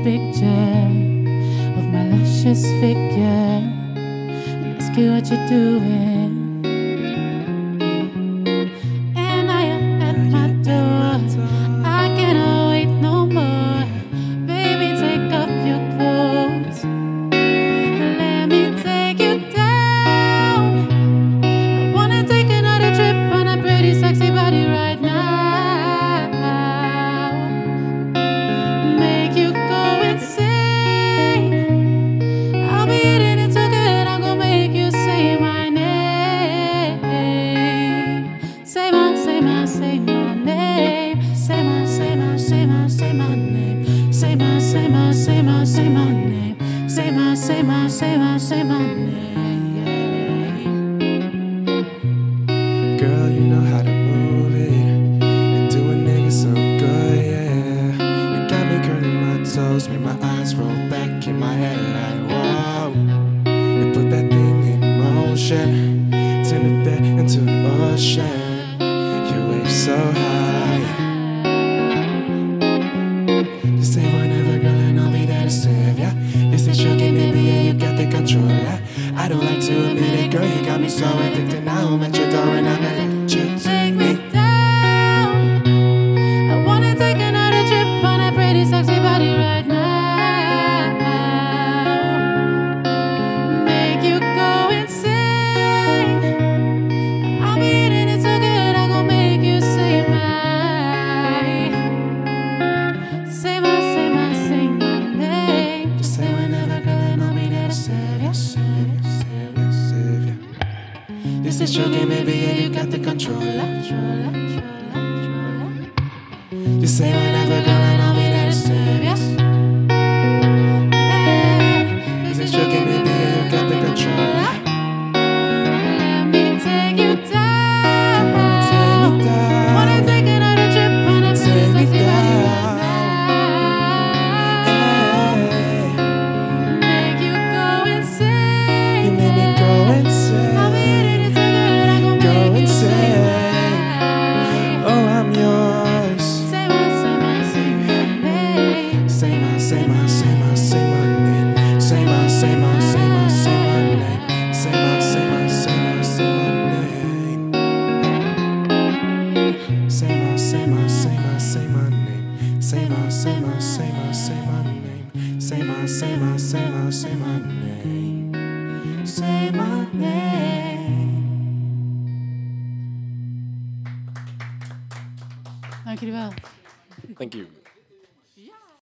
picture of my luscious figure and ask you what you're doing. And now you're at my door. I cannot wait no more. Baby, take off your clothes and let me take you down. I wanna take another trip on a pretty sexy body right now. Make you go insane. I'll be eating it so good, I'm gonna make you say my name. Say my name. Say my name. Say my name. Say my name. Say my name. Say my name. Girl, you know how to move it. You do a nigga so good, yeah. You got me curling my toes, make my eyes roll back in my head like, whoa. You put that thing in motion, turn the bed into the ocean. You wave so high. You say whatever, girl, and I'll be there to save ya. You say sugar, maybe, yeah, you got the controller. I don't like to admit it, girl, you got me so addicted. Now I'm at your door and I'm gonna let you take me down. I wanna take another trip on a pretty sexy body right now. Make you go insane. I'll be eating it so good, I'm gonna make you say my name. Just say whenever, girl, and I'll be there to save ya, save ya, save ya, save ya. This is your game, baby, yeah, you got the controller. Just say whenever, girl, and I'll be there to save ya. This is your game, baby, yeah, you got the controller. Let me take you down. Come on and take me down. Wanna take another trip on a pretty Take me sexy body right down. now. Make you go insane. You made me go insane. I'll be eating it so good, I'm gonna Go make you say insane. my Oh, I'm yours. Say my name. Say my name. Say my name. Say my name. Say my name. Say my name. Say my name. Say my name. Say my name. Say my name. Say my name. Dank jullie wel. Thank you.